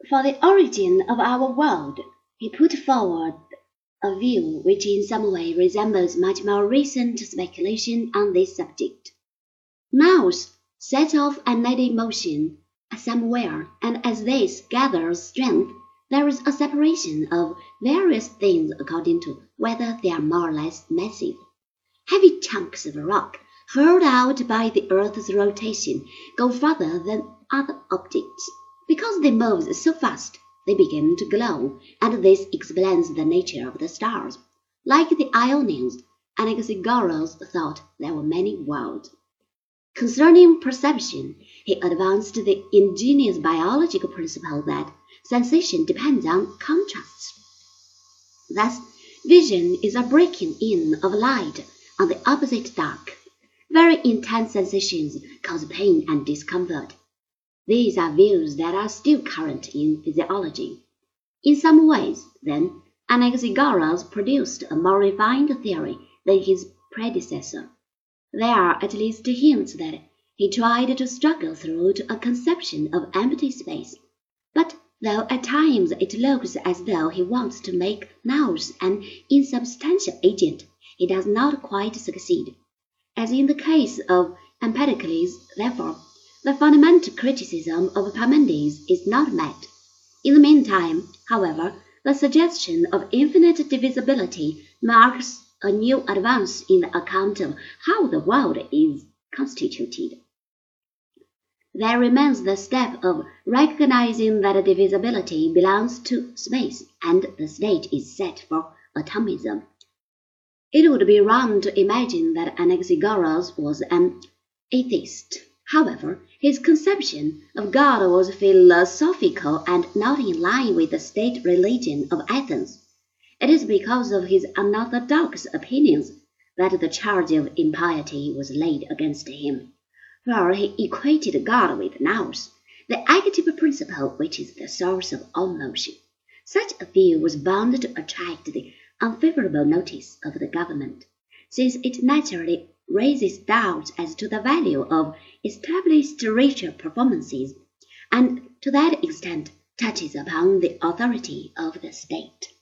For the origin of our world, he put forward a view which in some way resembles much more recent speculation on this subject. Nous set off an idea in motion somewhere, and as this gathers strength, there is a separation of various things according to whether they are more or less massive. Heavy chunks of rock, hurled out by the earth's rotation, go farther than other objects. Because they move so fast, they begin to glow, and this explains the nature of the stars. Like the Ionians, Anaxagoras thought there were many worlds. Concerning perception, he advanced the ingenious biological principle that sensation depends on contrasts. Thus, vision is a breaking in of light on the opposite dark. Very intense sensations cause pain and discomfort. These are views that are still current in physiology. In some ways, then, Anaxagoras produced a more refined theory than his predecessor. There are at least hints that he tried to struggle through to a conception of empty space. But though at times it looks as though he wants to make nous an insubstantial agent, he does not quite succeed. As in the case of Empedocles, therefore, the fundamental criticism of Parmenides is not met. In the meantime, however, the suggestion of infinite divisibility marks a new advance in the account of how the world is constituted. There remains the step of recognizing that divisibility belongs to space, and the stage is set for atomism. It would be wrong to imagine that Anaxagoras was an atheist. However, his conception of God was philosophical and not in line with the state religion of Athens. It is because of his unorthodox opinions that the charge of impiety was laid against him, for he equated God with nous, the active principle which is the source of all motion. Such a view was bound to attract the unfavorable notice of the government, since it naturally raises doubts as to the value of established ritual performances, and to that extent touches upon the authority of the state.